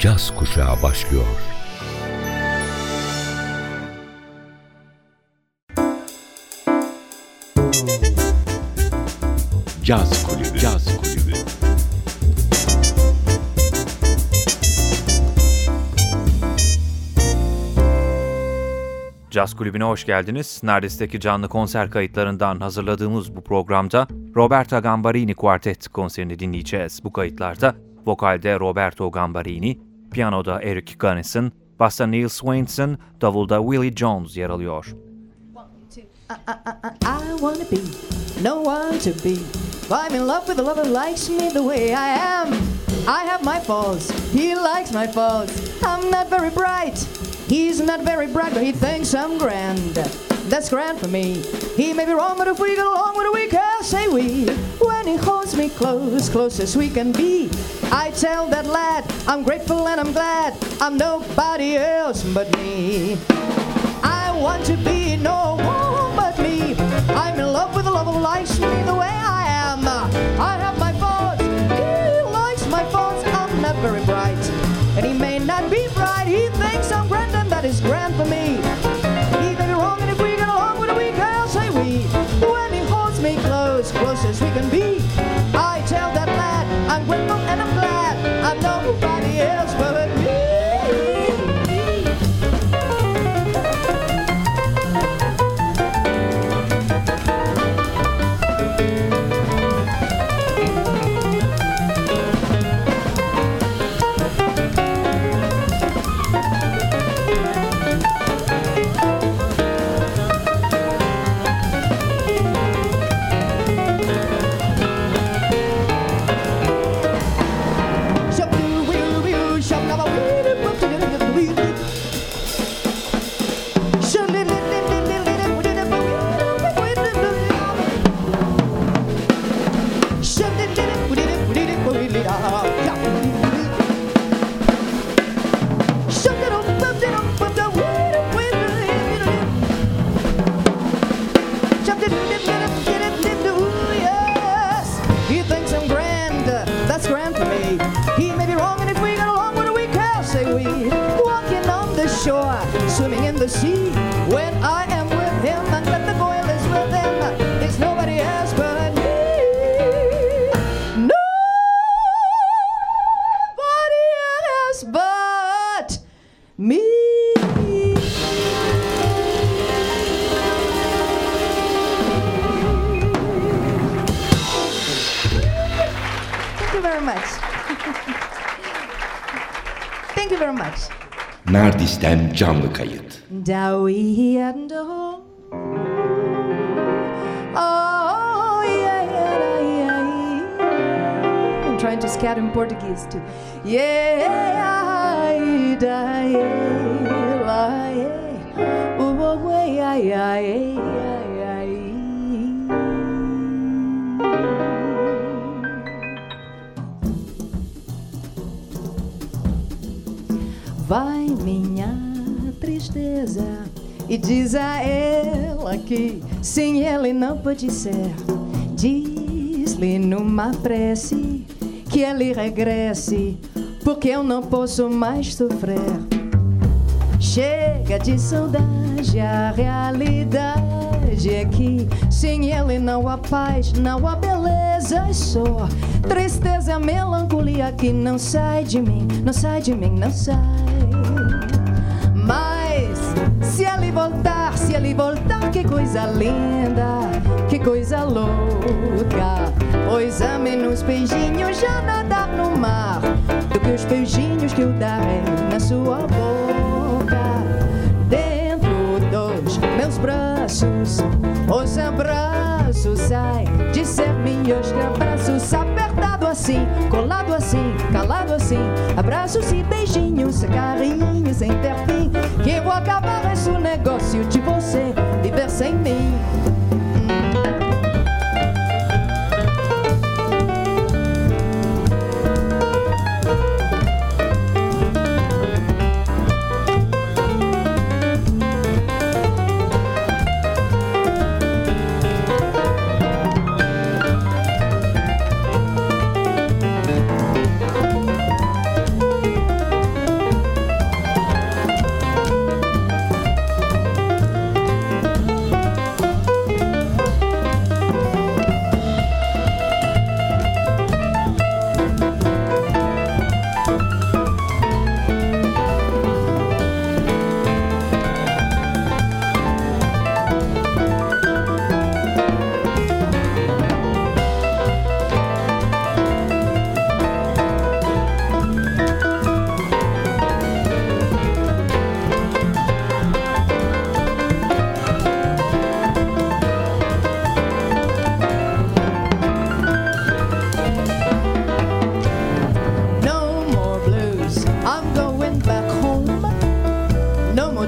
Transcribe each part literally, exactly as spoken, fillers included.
Caz Kuşağı başlıyor. Caz Kulübü. Caz Kulübü. Caz Kulübü'ne hoş geldiniz. Nardis'teki canlı konser kayıtlarından hazırladığımız bu programda Roberto Gambarini Quartet konserini dinleyeceğiz. Bu kayıtlarda vokalde Roberto Gambarini, piyanoda Eric Gunnison, basta Neil Swainson, davulda Willie Jones yer alıyor. I, I, I, I wanna be, no one to be. I'm in love with a lover who likes me the way I am. I have my faults, he likes my faults. I'm not very bright, he's not very bright, but he thinks I'm grand. That's grand for me. He may be wrong, but if we get along with it, we can say we. When he holds me close, close as we can be, I tell that lad, I'm grateful and I'm glad I'm nobody else but me. I want to be no one but me. I'm in love with a lover who likes me the way I am. I have my faults, he likes my faults. I'm not very bright, and he may not be bright. He thinks I'm grand, and that is grand for me. He may be wrong, and if we get along with it, we can say we. When he holds me close, close as we can be, I tell that lad, I'm grateful and I'm glad I'm nobody else but me. Swimming in the sea when I am with him, and let the boil is with him. It's nobody else but me. Nobody else but me. Thank you very much. Thank you very much. Nardis'ten canlı kayıt. I'm trying to scat in Portuguese too. Yeah, vai minha tristeza e diz a ela que sem ele não pode ser. Diz-lhe numa prece que ele regresse, porque eu não posso mais sofrer. Chega de saudade, a realidade é que sem ele não há paz, não há beleza, é só tristeza, melancolia que não sai de mim, não sai de mim, não sai. Mas se ele voltar, se ele voltar, que coisa linda, que coisa louca. Pois a menos beijinhos já nadar no mar do que os beijinhos que eu darei na sua boca. Dentro dos meus braços, os abraços saem de ser meus abraços, apertado assim, colado assim, calado assim, abraços e beijinhos, carinhos sem ter fim, que eu vou acabar esse negócio de você viver sem mim.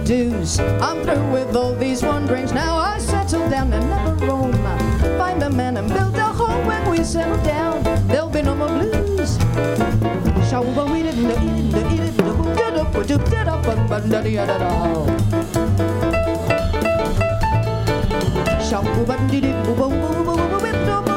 dues. I'm through with all these wanderings. Now I settle down and never roam. Find a man and build a home. When we settle down, there'll be no more blues. Shall we eat it, eat it, eat it, get up, get up, get up, get up, get up. Shall we eat it, boom, boom, boom, boom, boom, boom.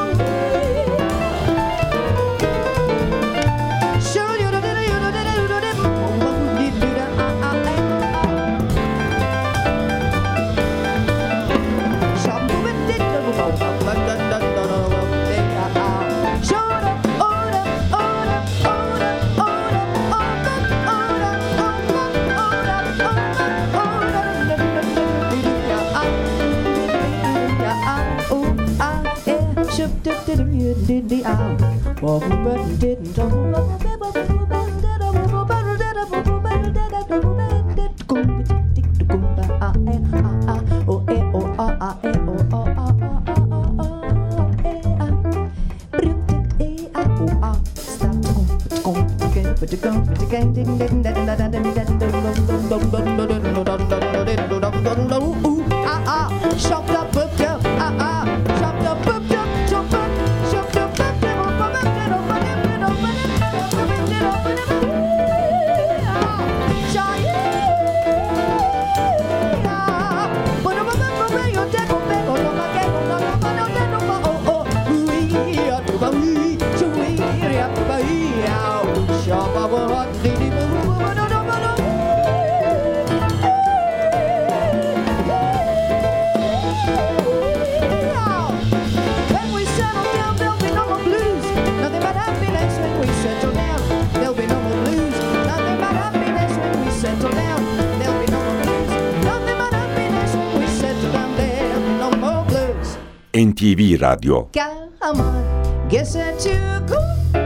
Did the owl walk but didn't talk. Chopped up, booked up, ah ah, chopped up, booked up, chopped up. N T V Radyo. Come on, get set to go.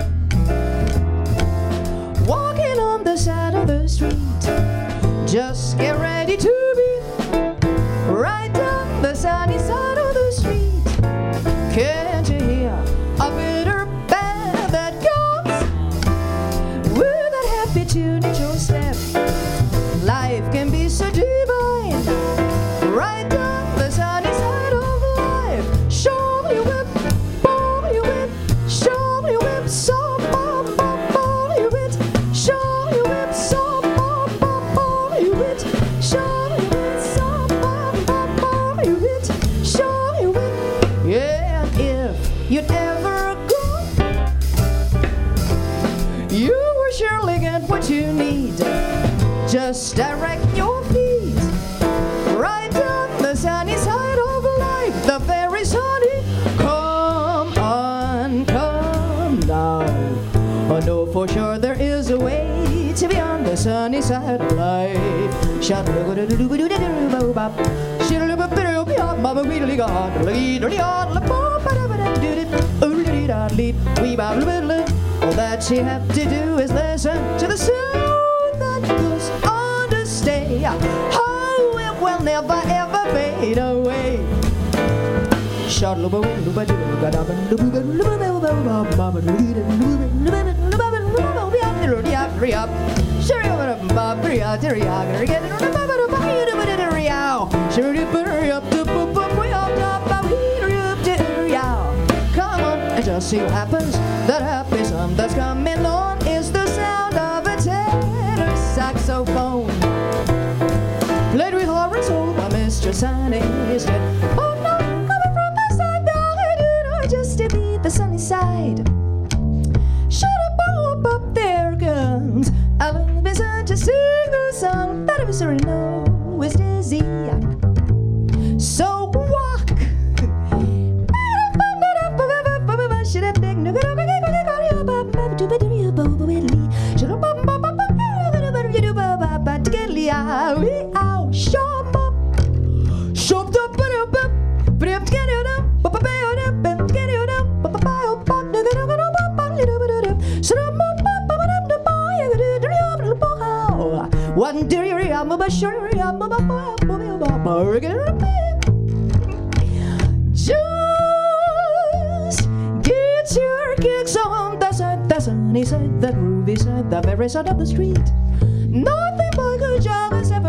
Walking on the side of the street. Just get ready to be right down the sunny side of the street. Can't you hear a bitter band that comes with that happy tune at your step? Life can be so divine. Right down the sunny side of life. Show me whip, ball you whip, show me whip, so ball, ball, ball you whip, show me whip, so ball, ball, ball you whip, show me whip, so ball, ball, ball you whip, show me whip. Yeah, if you'd ever go, you will surely get what you need. Just direct your feet right down the sunny side of life, the very sunny. Come on, come now. I know for sure there is a way to be on the sunny side of life. All that you have to do is listen to the sound that goes on to stay. Oh, it will never ever fade away. Come on, and just see what happens. That happy sound that's coming on is the sound of a tenor saxophone, played with Lawrence Holt by Mister Sonny. He said, oh no, coming from my side, now I do know just to be the sunny side. Shut up, up, up, there comes. I love his son to sing the song that I was already know is dizzy. So walk. One day I'm a sure I'm a just get your kicks on the side, the sunny side, the groovy side, the very side of the street. Nothing but good job has ever and ever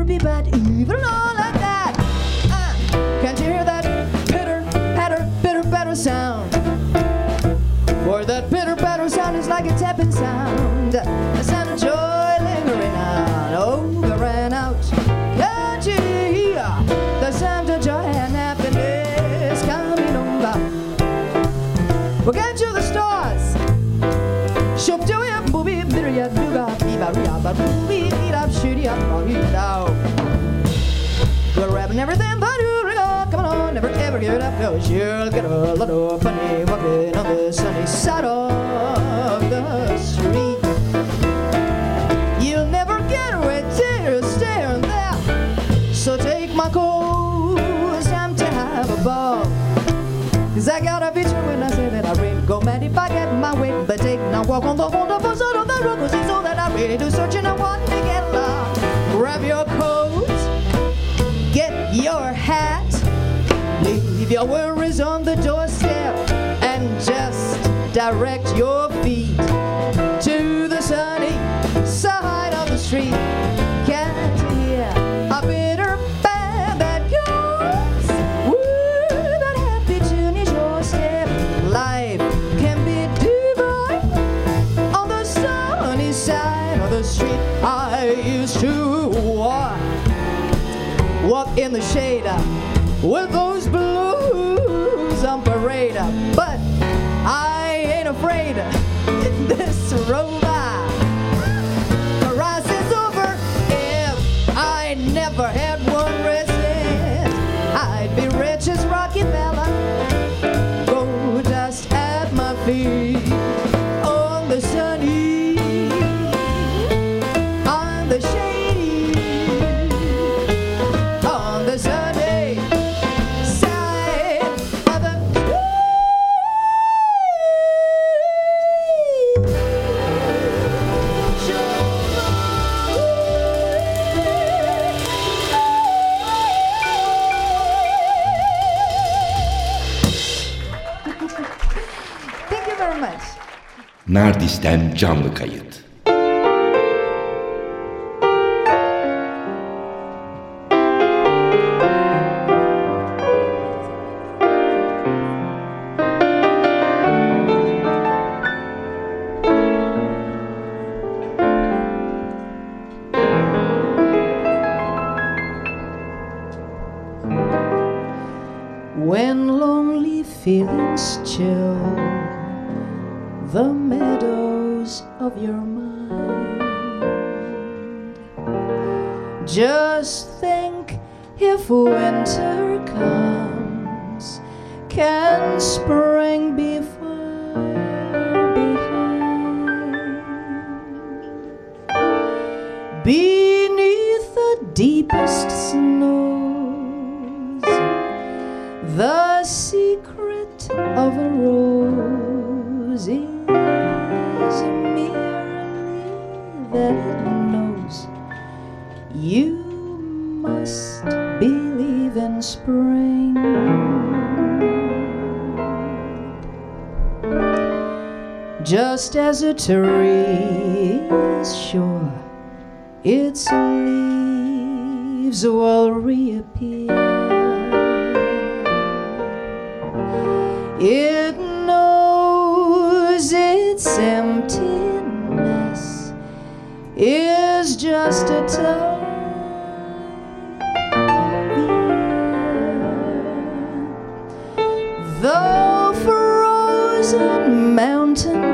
be bad, even all like that. Uh, can't you hear that pitter, patter, pitter, patter sound? For that pitter, patter sound is like a tapping sound, a sound of joy lingering on over and out. Can't you hear the sound of joy and happiness coming over? Well, can't you the stars? Shop to it, booby, bitter, duga, biba, riaba, booby, eat up, shoot up, eat out. We're rapping everything but you ring on, come on, never ever give it up, cause you'll get a lot of funny walking on the sunny side of the street. You'll never get away till staring there. So take my coat, it's time to have a ball. Cause I got a vision when I say that I really go mad if I get my way. But take now walk on the wonderful side of the road, cause it's all that I really do search and I want to get lost. Grab your coat, get your hat, leave your worries on the doorstep, and just direct your feet to the sunny side of the street. Can't you hear a bitter band that goes? Woo, that happy tune is your step. Life can be divine on the sunny side of the street. I used to walk, walk in the shade with those blues on parade, but I ain't afraid this rover. The rise is over. If I never had one resident, I'd be rich as Rockefeller. Gold dust at my feet on the sunny, on the shady, on the sunny side of the Thank you very much. Nardis'ten canlı kayıt. When lonely feelings chill the meadows of your mind, just think, if winter comes, can spring be far behind? Beneath the deepest snows, the secret of a rose is merely that it knows you must believe in spring. Just as a tree is sure its leaves will reappear, it knows its emptiness is just a time of year. Though frozen mountain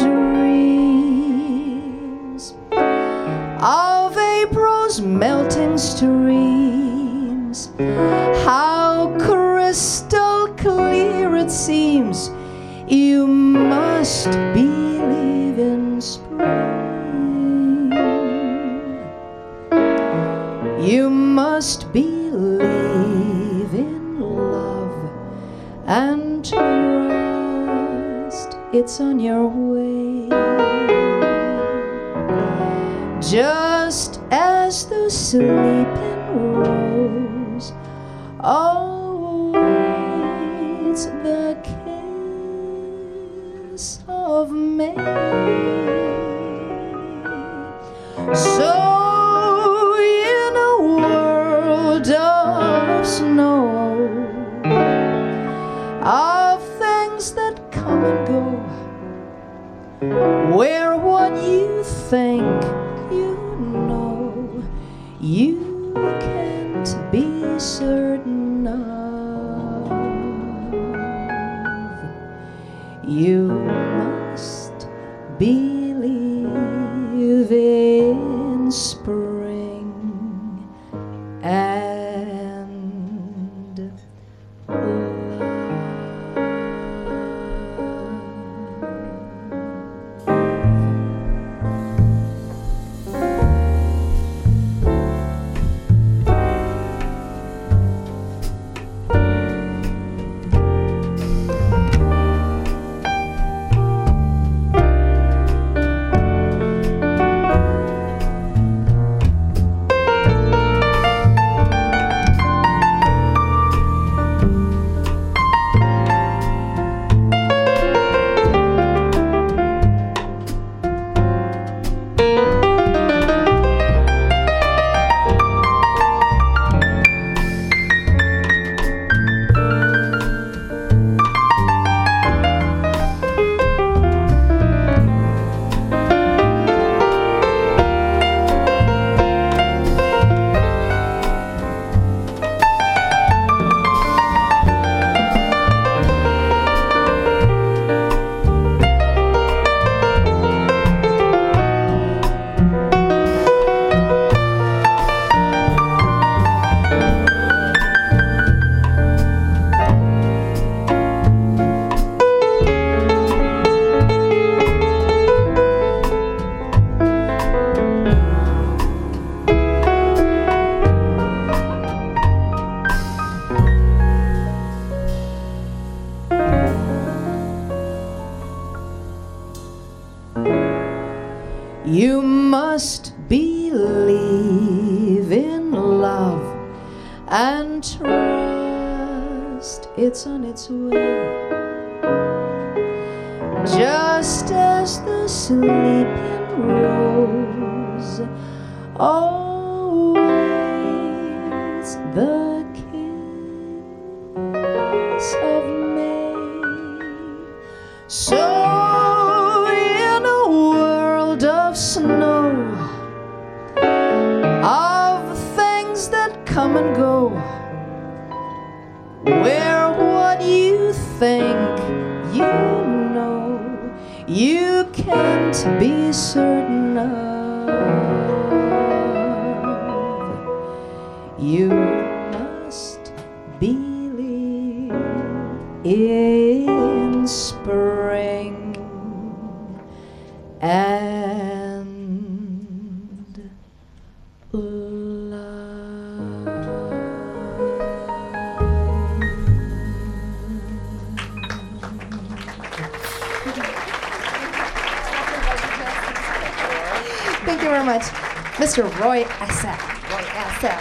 dreams of April's melting streams, how crystal clear it seems, you must believe in spring. You must believe in love and trust it's on your way. Just as the sleeping rose awaits the kiss of May, so in a world think you know you can't be certain of. You must believe in spring and love. You must believe in love and trust it's on its way. Just as the sleeping rose awaits the kiss of May, so in a world of snow, of things that come and go, where what you think you know you can't be certain of, you must believe in spring and love. Thank you very much, Mister Roy Asaf. Roy Asaf.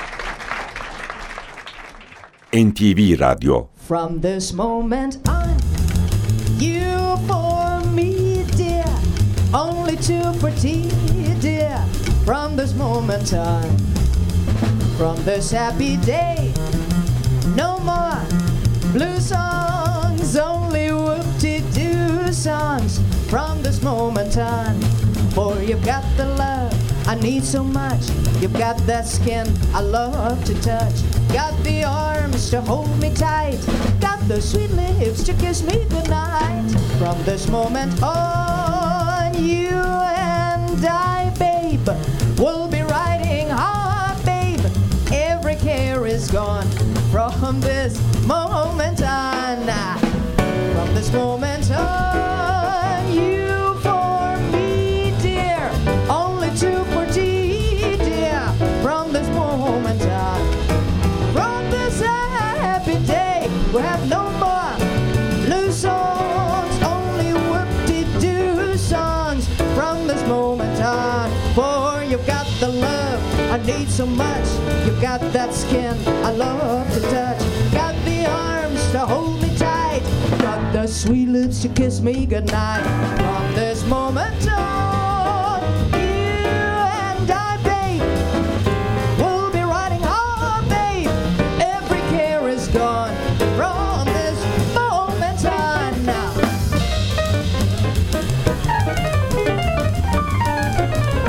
N T V Radyo. From this moment on, you for me, dear, only too pretty, dear. From this moment on, from this happy day, no more blue songs, only whoop-de-doo songs. From this moment on, for you've got the love I need so much. You've got that skin I love to touch. Got the arms to hold me tight. Got the sweet lips to kiss me goodnight. From this moment on, you and I, babe, will be riding hard, babe. Every care is gone from this moment on. From this moment on, you for me, dear, only too pretty, dear. From this moment on, from this happy day, we have no more blue songs, only whoop-de-doo songs. From this moment on, for you've got the love I need so much. You've got that skin I love to touch. Got the arms to hold me tight. Got the sweet lips to kiss me goodnight. From this moment on, you and I, babe, will be riding hard, babe. Every care is gone from this moment on now.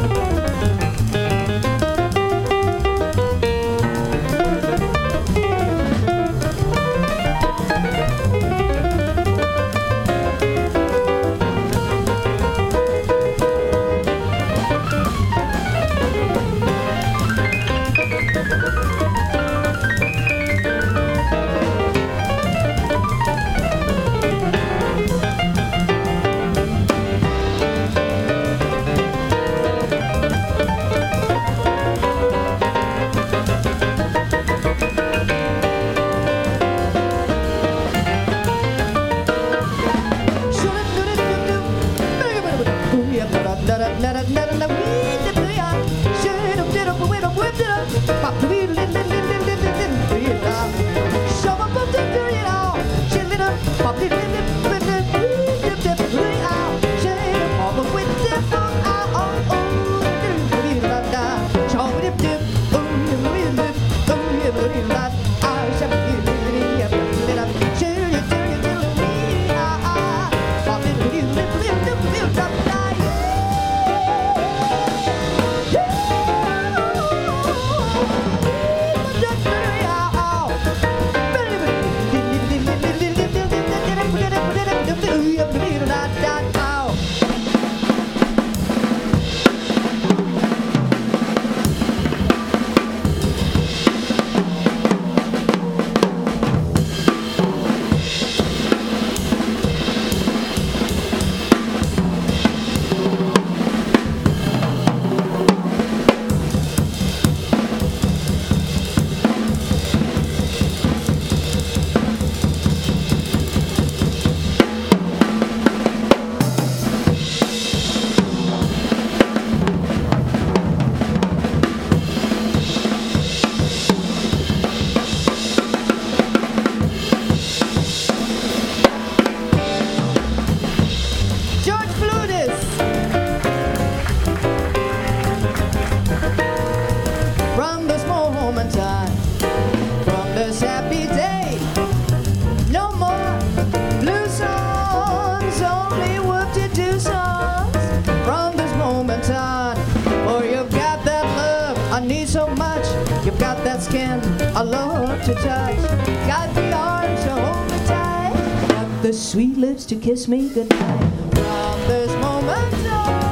I love to touch, got the arms to hold me tight, got the sweet lips to kiss me goodnight. From this moment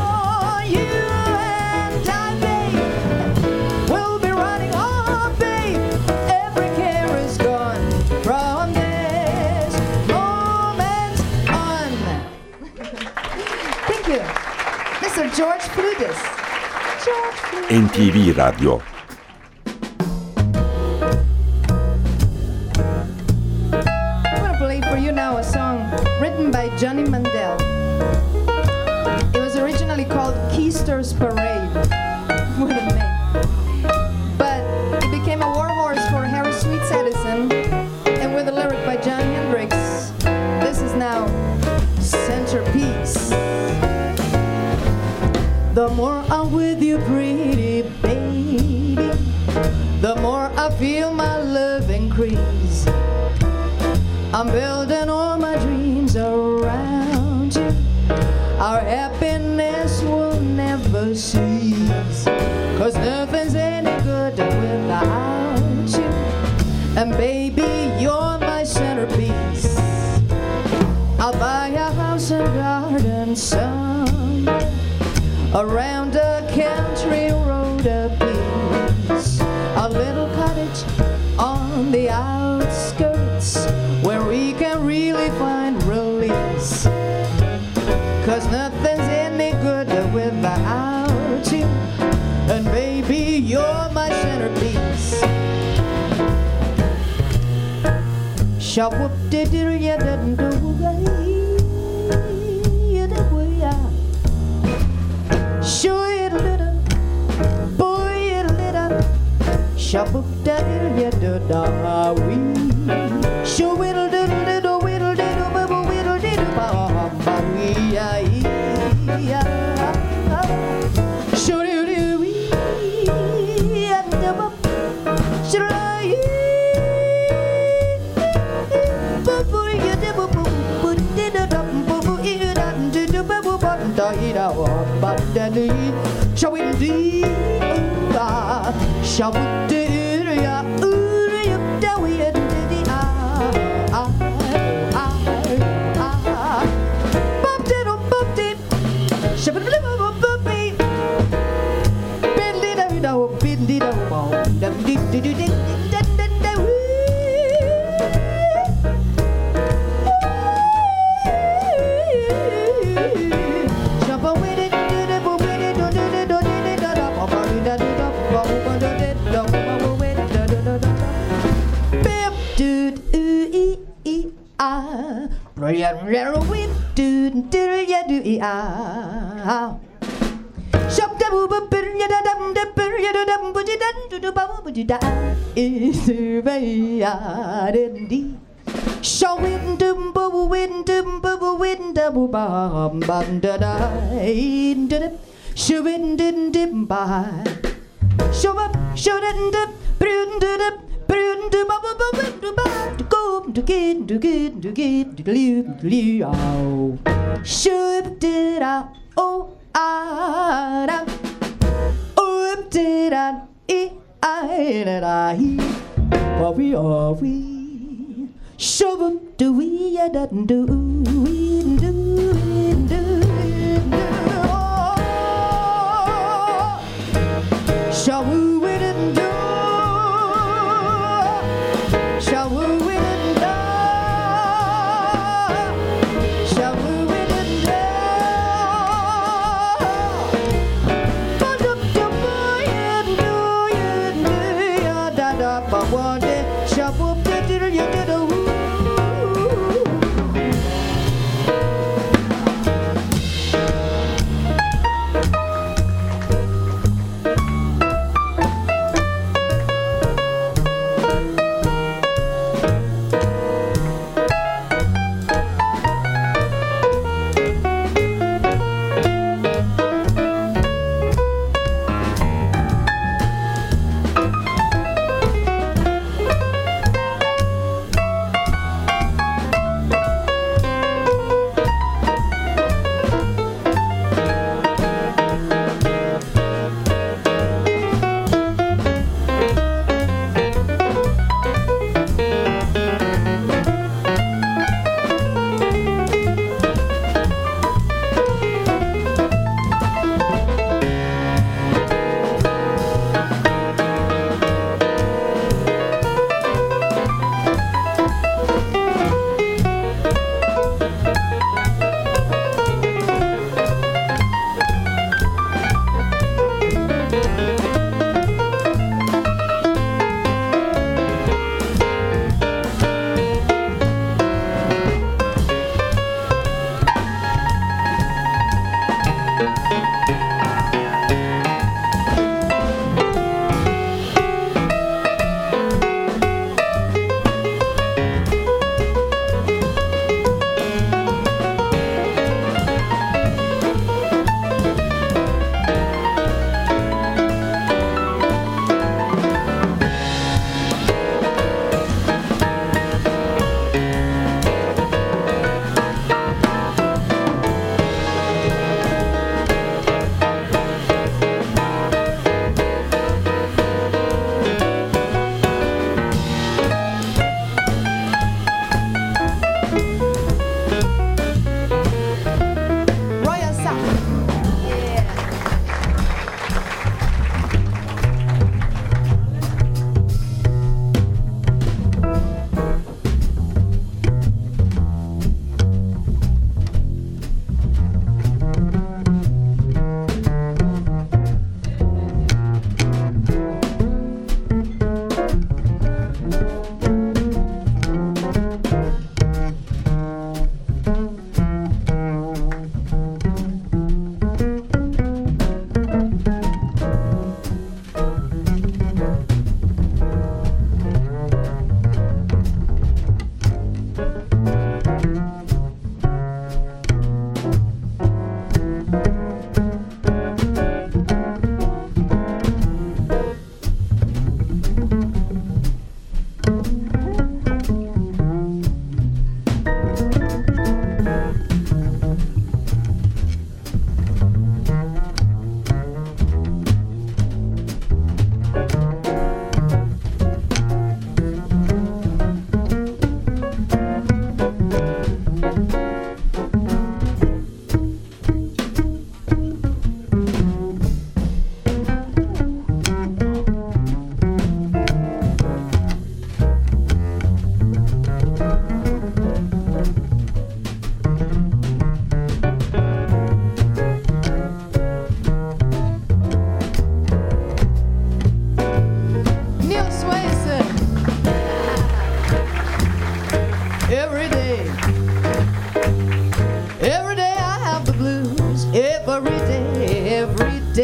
on, you and I, babe, will be running on, babe. Every care is gone from this moment on. Thank you, Mister George Fludis. George Fludis. N T V Radyo. Johnny Mandel. It was originally called Keister's Parade. What a name. But it became a war horse for Harry Sweets Edison, and with a lyric by Jon Hendricks. This is now Centerpiece. The more I'm with you, pretty baby, the more I feel my love increase. I'm building all my dreams around you. Our happiness will never cease, 'cause nothing's any good without you. And baby, you're my centerpiece. I'll buy a house and garden somewhere around a country road a piece, a little cottage on the outskirts where we can really find release, 'cause nothing's any good without you. And baby, you're my centerpiece. Shop whoop de doo ya didn't do show it a little, boy it a little. Shop whoop de doo ya do da we. Show whittle diddle diddle whittle diddle bubble whittle diddle ba ba wee ya ya. Show you do we and the bub. Should I bubble you dibble bubble diddle dum bubble ear dum diddle bubble button da ida wa ba da dee. Show it dee ah. Show it dee ya ooh ya da we dee. Shawindum bubble windum bubble windum bum bum da da da shawindum dim by show up shawindum brundum brundum bubble bubble bubble go to get to get to get to live live oh should did I oh I oh did I I I what we are we show up do we ya da do we do we do shall we win and do shall we win and do shall we win and do but up to boy and do you do ya da da but one day shall we do you do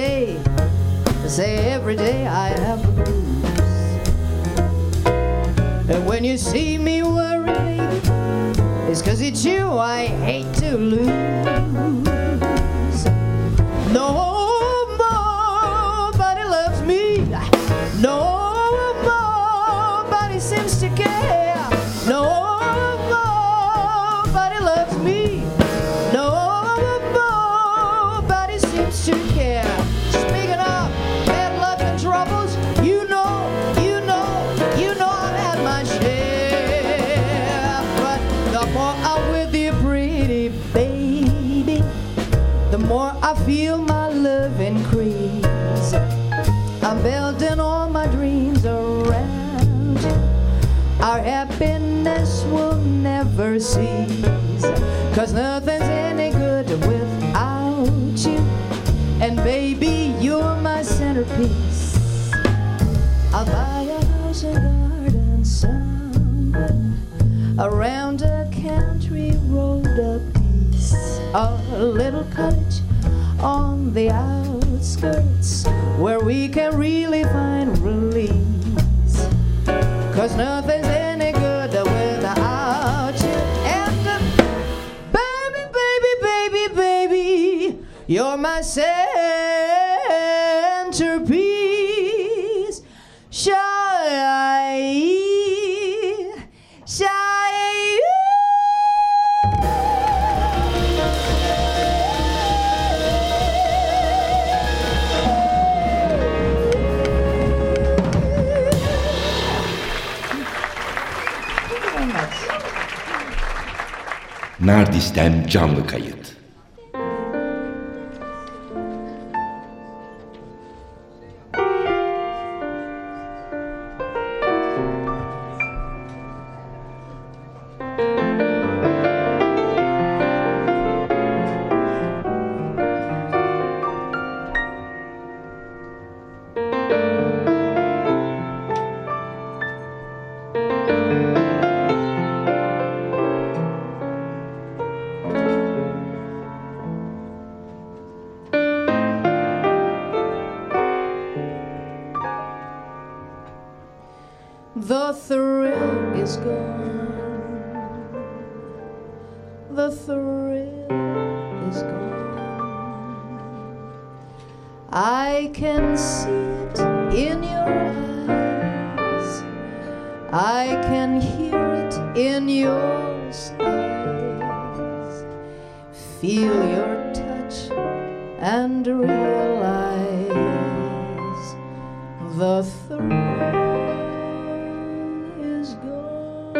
day, say every day I have the blues. And when you see me worry, baby, it's 'cause it's you I hate to lose. Nobody loves me. Nobody seems to care. Nobody loves me. Nobody seems to care. Speaking of bad luck and troubles, you know, you know, you know I've had my share. But the more I'm with you, pretty baby, the more I feel my love increase. I'm building all my dreams around you. Our happiness will never cease. 'Cause nothing's any good without you. And baby, you're my centerpiece. I'll buy a house and garden somewhere around a country road of peace. A little cottage on the outskirts where we can really find release. 'Cause nothing's any good without you. And uh, baby, baby, baby, baby, you're my centerpiece. Shine, shine. Nardis'ten canlı kayıt. The thrill is gone. The thrill is gone. I can see it in your eyes. I can hear it in your sighs. Feel your touch and realize the thrill is gone.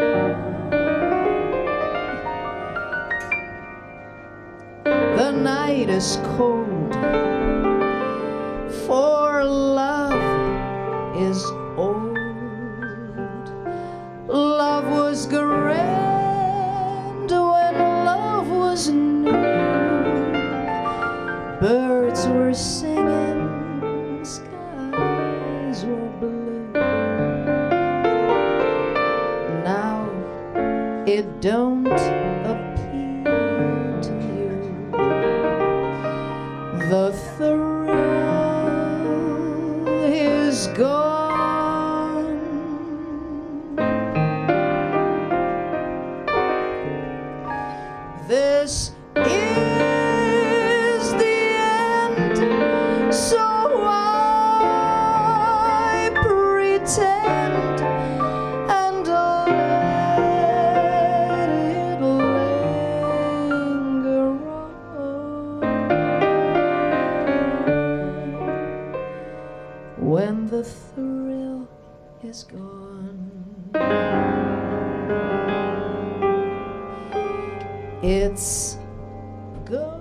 The night is cold, for love is old. Love was grand when love was new. Birds were singing, skies were blue. Now it don't appeal to you. The thrill is gone. This is the end, so I pretend and let it linger on. When the thrill is gone, it's gone.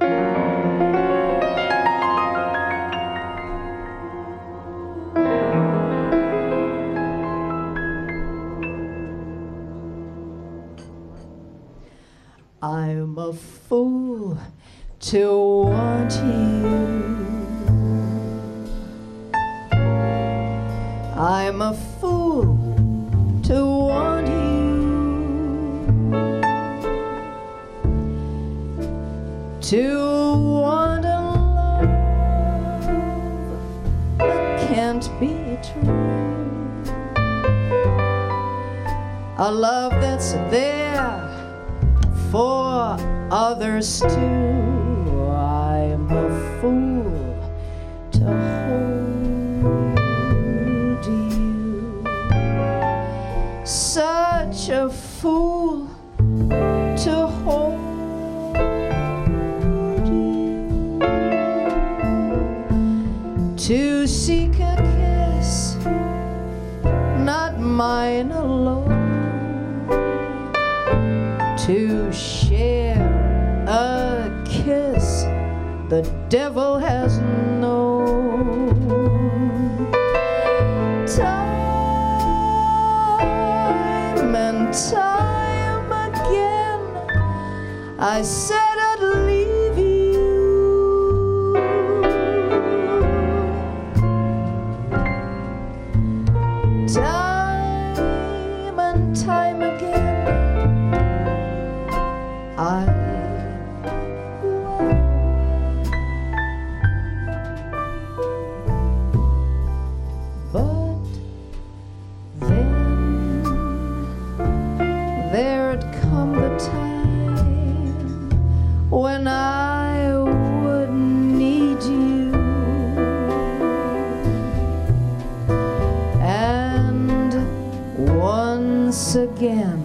I'm a fool to want you. I'm a fool to want you. To want a love can't be true. A love that's there for others too. I'm a fool to hold you. Such a fool to hold you. To seek a kiss, not mine alone. To share a kiss the devil has known. Time and time again I said I'd leave you. Time and time again I when I would need you, and once again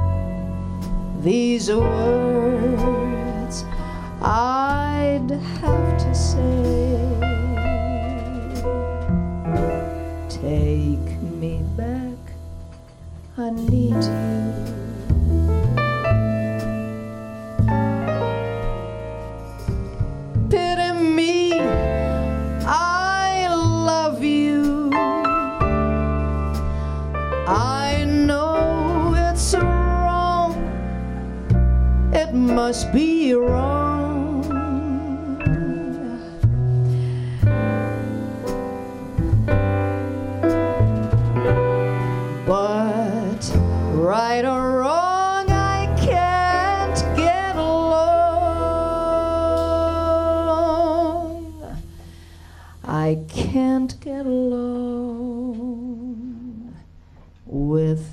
these words I'd have to say. Take me back, I need you. Must be wrong, but right or wrong I can't get along. I can't get along with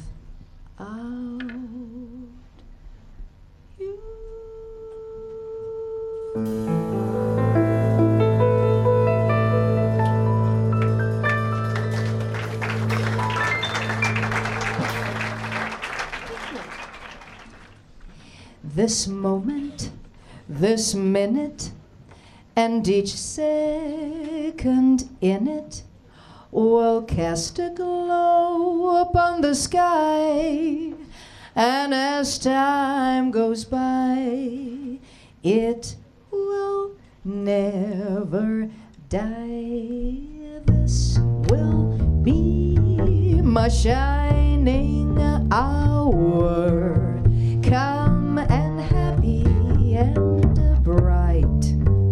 this moment, this minute, and each second in it will cast a glow upon the sky, and as time goes by, it will never die. This will be my shining hour, calm and happy and bright.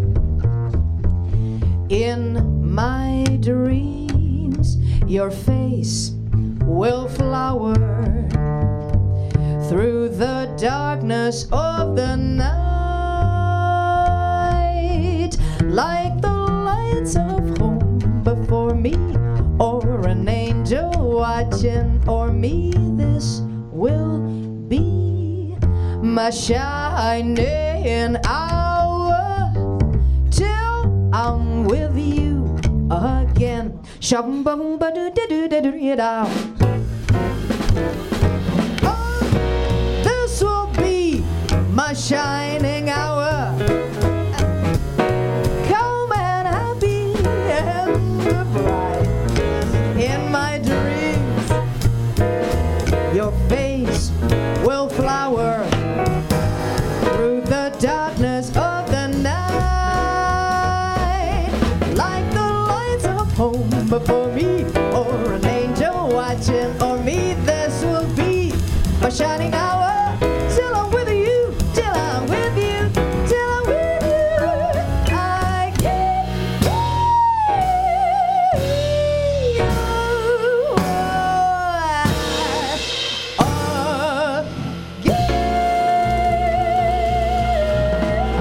In my dreams, your face will flower through the darkness of the night, like the lights of home before me, or an angel watching o'er me. This will be my shining hour till I'm with you again. Shum-bum-ba-do-do-do-do-do-do. Oh, this will be my shining hour, calm and happy and bright. In my dreams, your face will flower through the darkness of the night, like the lights of home before me, or an angel watching o'er me. This will be my shining hour till I'm with you, till I'm with you, till I'm with you. I can't leave you.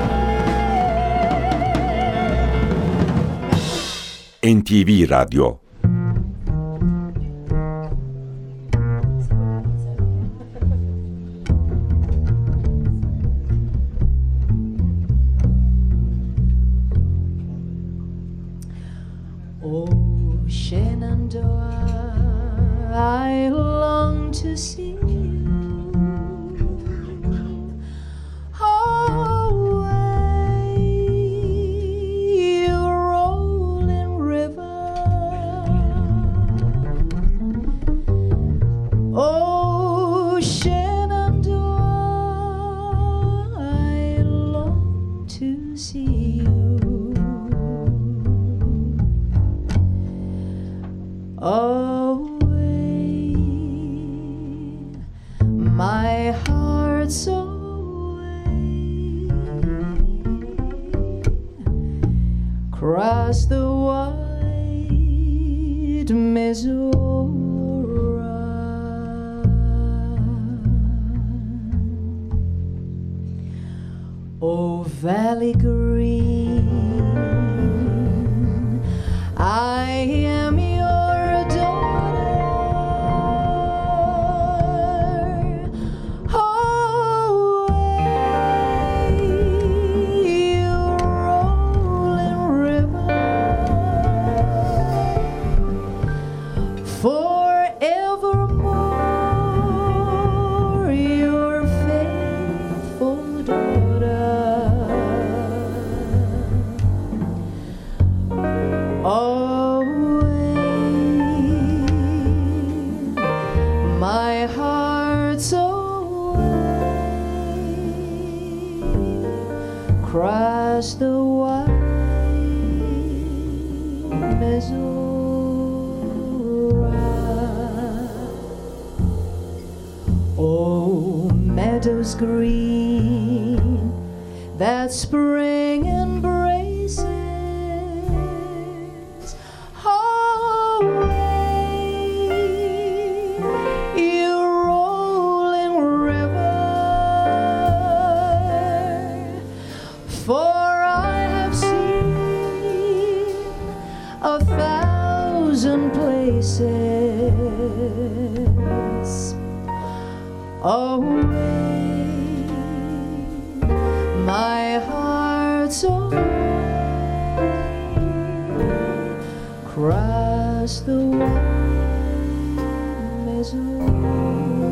N T V Radyo Oh, Shenandoah, I long to see you. Oh, way, you rolling river. Oh, Shenandoah, I long to see you. Away, my heart's away, across the wide Missouri. Oh, Valley Green, I am your forevermore, your faithful daughter. Away, my heart's away, across the wide Missouri. Oh, meadows green that spring embraces. Away, you rolling river, for I have seen a thousand places. Away, my heart's away, across the wide Missouri.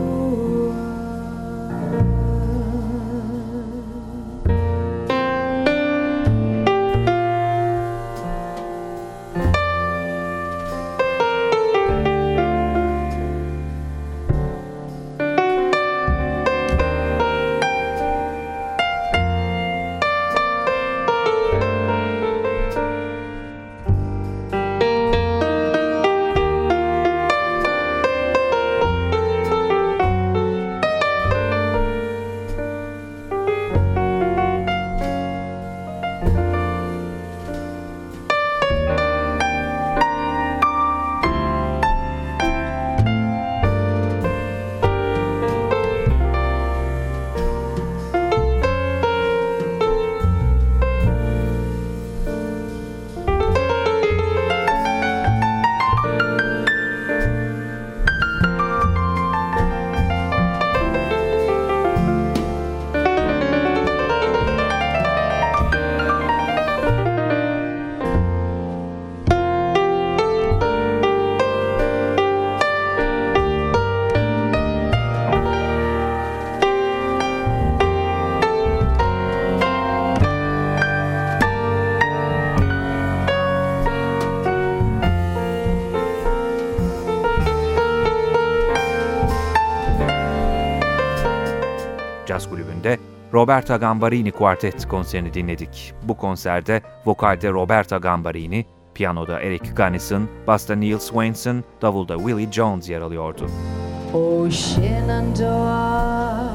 Caz Kulübü'nde Roberta Gambarini Kuartet konserini dinledik. Bu konserde vokalde Roberta Gambarini, piyanoda Eric Gunnison, basta Neil Swainson, davulda Willie Jones yer alıyordu. Oh, Shenandoah,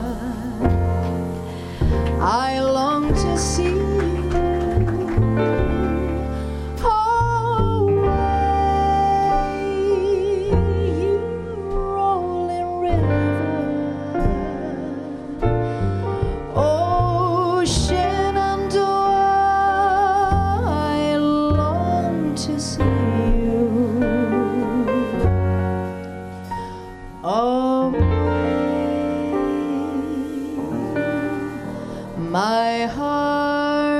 I long to see you. Oh, way, you rolling river. Oh, Shenandoah, I long to see you. Oh, my heart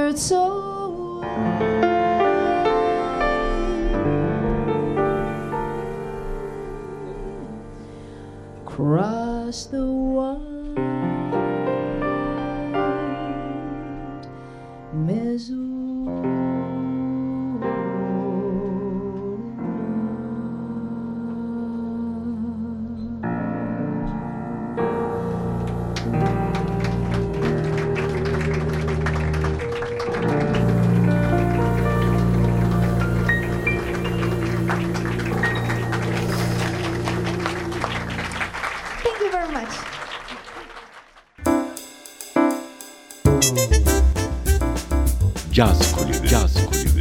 across the wide Missouri. Thank you very much. Caz Kulübü. Caz Kulübü.